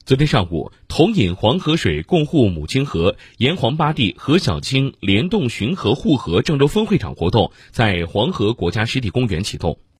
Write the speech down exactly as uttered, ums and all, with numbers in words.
昨天上午，同饮黄河水，共护母亲河沿黄八地何小青联动巡河护河郑州分会场活动在黄河国家湿地公园启动。